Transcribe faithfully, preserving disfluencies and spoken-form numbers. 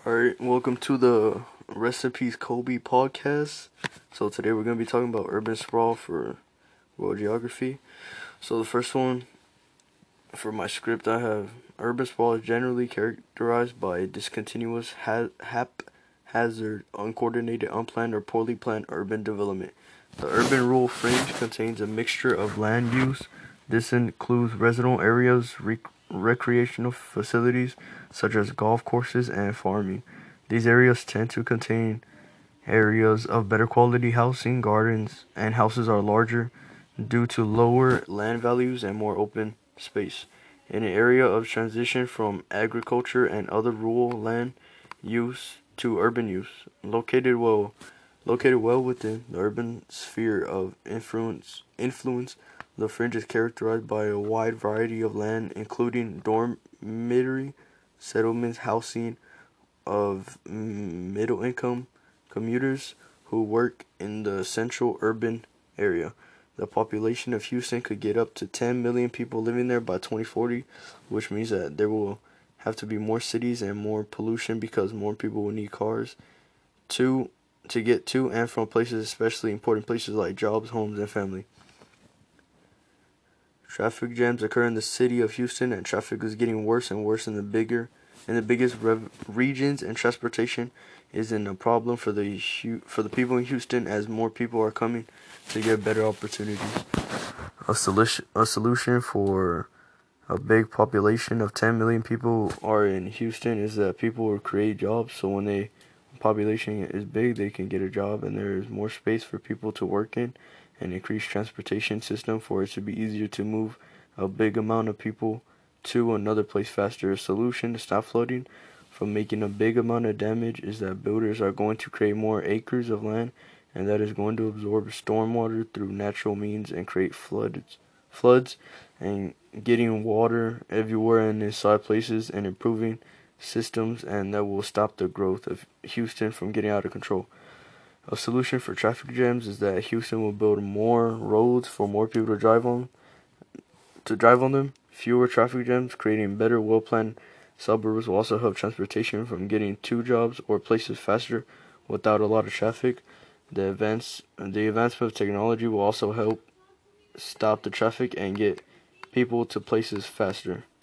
Alright, welcome to the Recipes Kobe podcast. So today we're going to be talking about urban sprawl for world geography. So the first one, for my script, I have urban sprawl is generally characterized by discontinuous, ha- haphazard, uncoordinated, unplanned, or poorly planned urban development. The urban rural fringe contains a mixture of land use. This includes residential areas, rec- recreational facilities, such as golf courses and farming. These areas tend to contain areas of better quality housing, gardens, and houses are larger due to lower land values and more open space. In an area of transition from agriculture and other rural land use to urban use, located well located well within the urban sphere of influence influence, the fringe is characterized by a wide variety of land, including dormitory settlements, housing of middle-income commuters who work in the central urban area. The population of Houston could get up to ten million people living there by twenty forty, which means that there will have to be more cities and more pollution because more people will need cars to to get to and from places, especially important places like jobs, homes, and family. Traffic jams occur in the city of Houston, and traffic is getting worse and worse in the bigger in the biggest rev- regions, and transportation isn't a problem for the for the people in Houston as more people are coming to get better opportunities. A solution a solution for a big population of ten million people are in Houston is that people will create jobs, so when they population is big, they can get a job, and there is more space for people to work in, and increase transportation system for it to be easier to move a big amount of people to another place faster. A solution to stop flooding from making a big amount of damage is that builders are going to create more acres of land, and that is going to absorb stormwater through natural means and create floods, floods, and getting water everywhere in inside places and improving systems, and that will stop the growth of Houston from getting out of control. A solution for traffic jams is that Houston will build more roads for more people to drive on to drive on them. Fewer traffic jams, creating better, well-planned suburbs will also help transportation from getting to jobs or places faster without a lot of traffic. The advance the advancement of technology will also help stop the traffic and get people to places faster.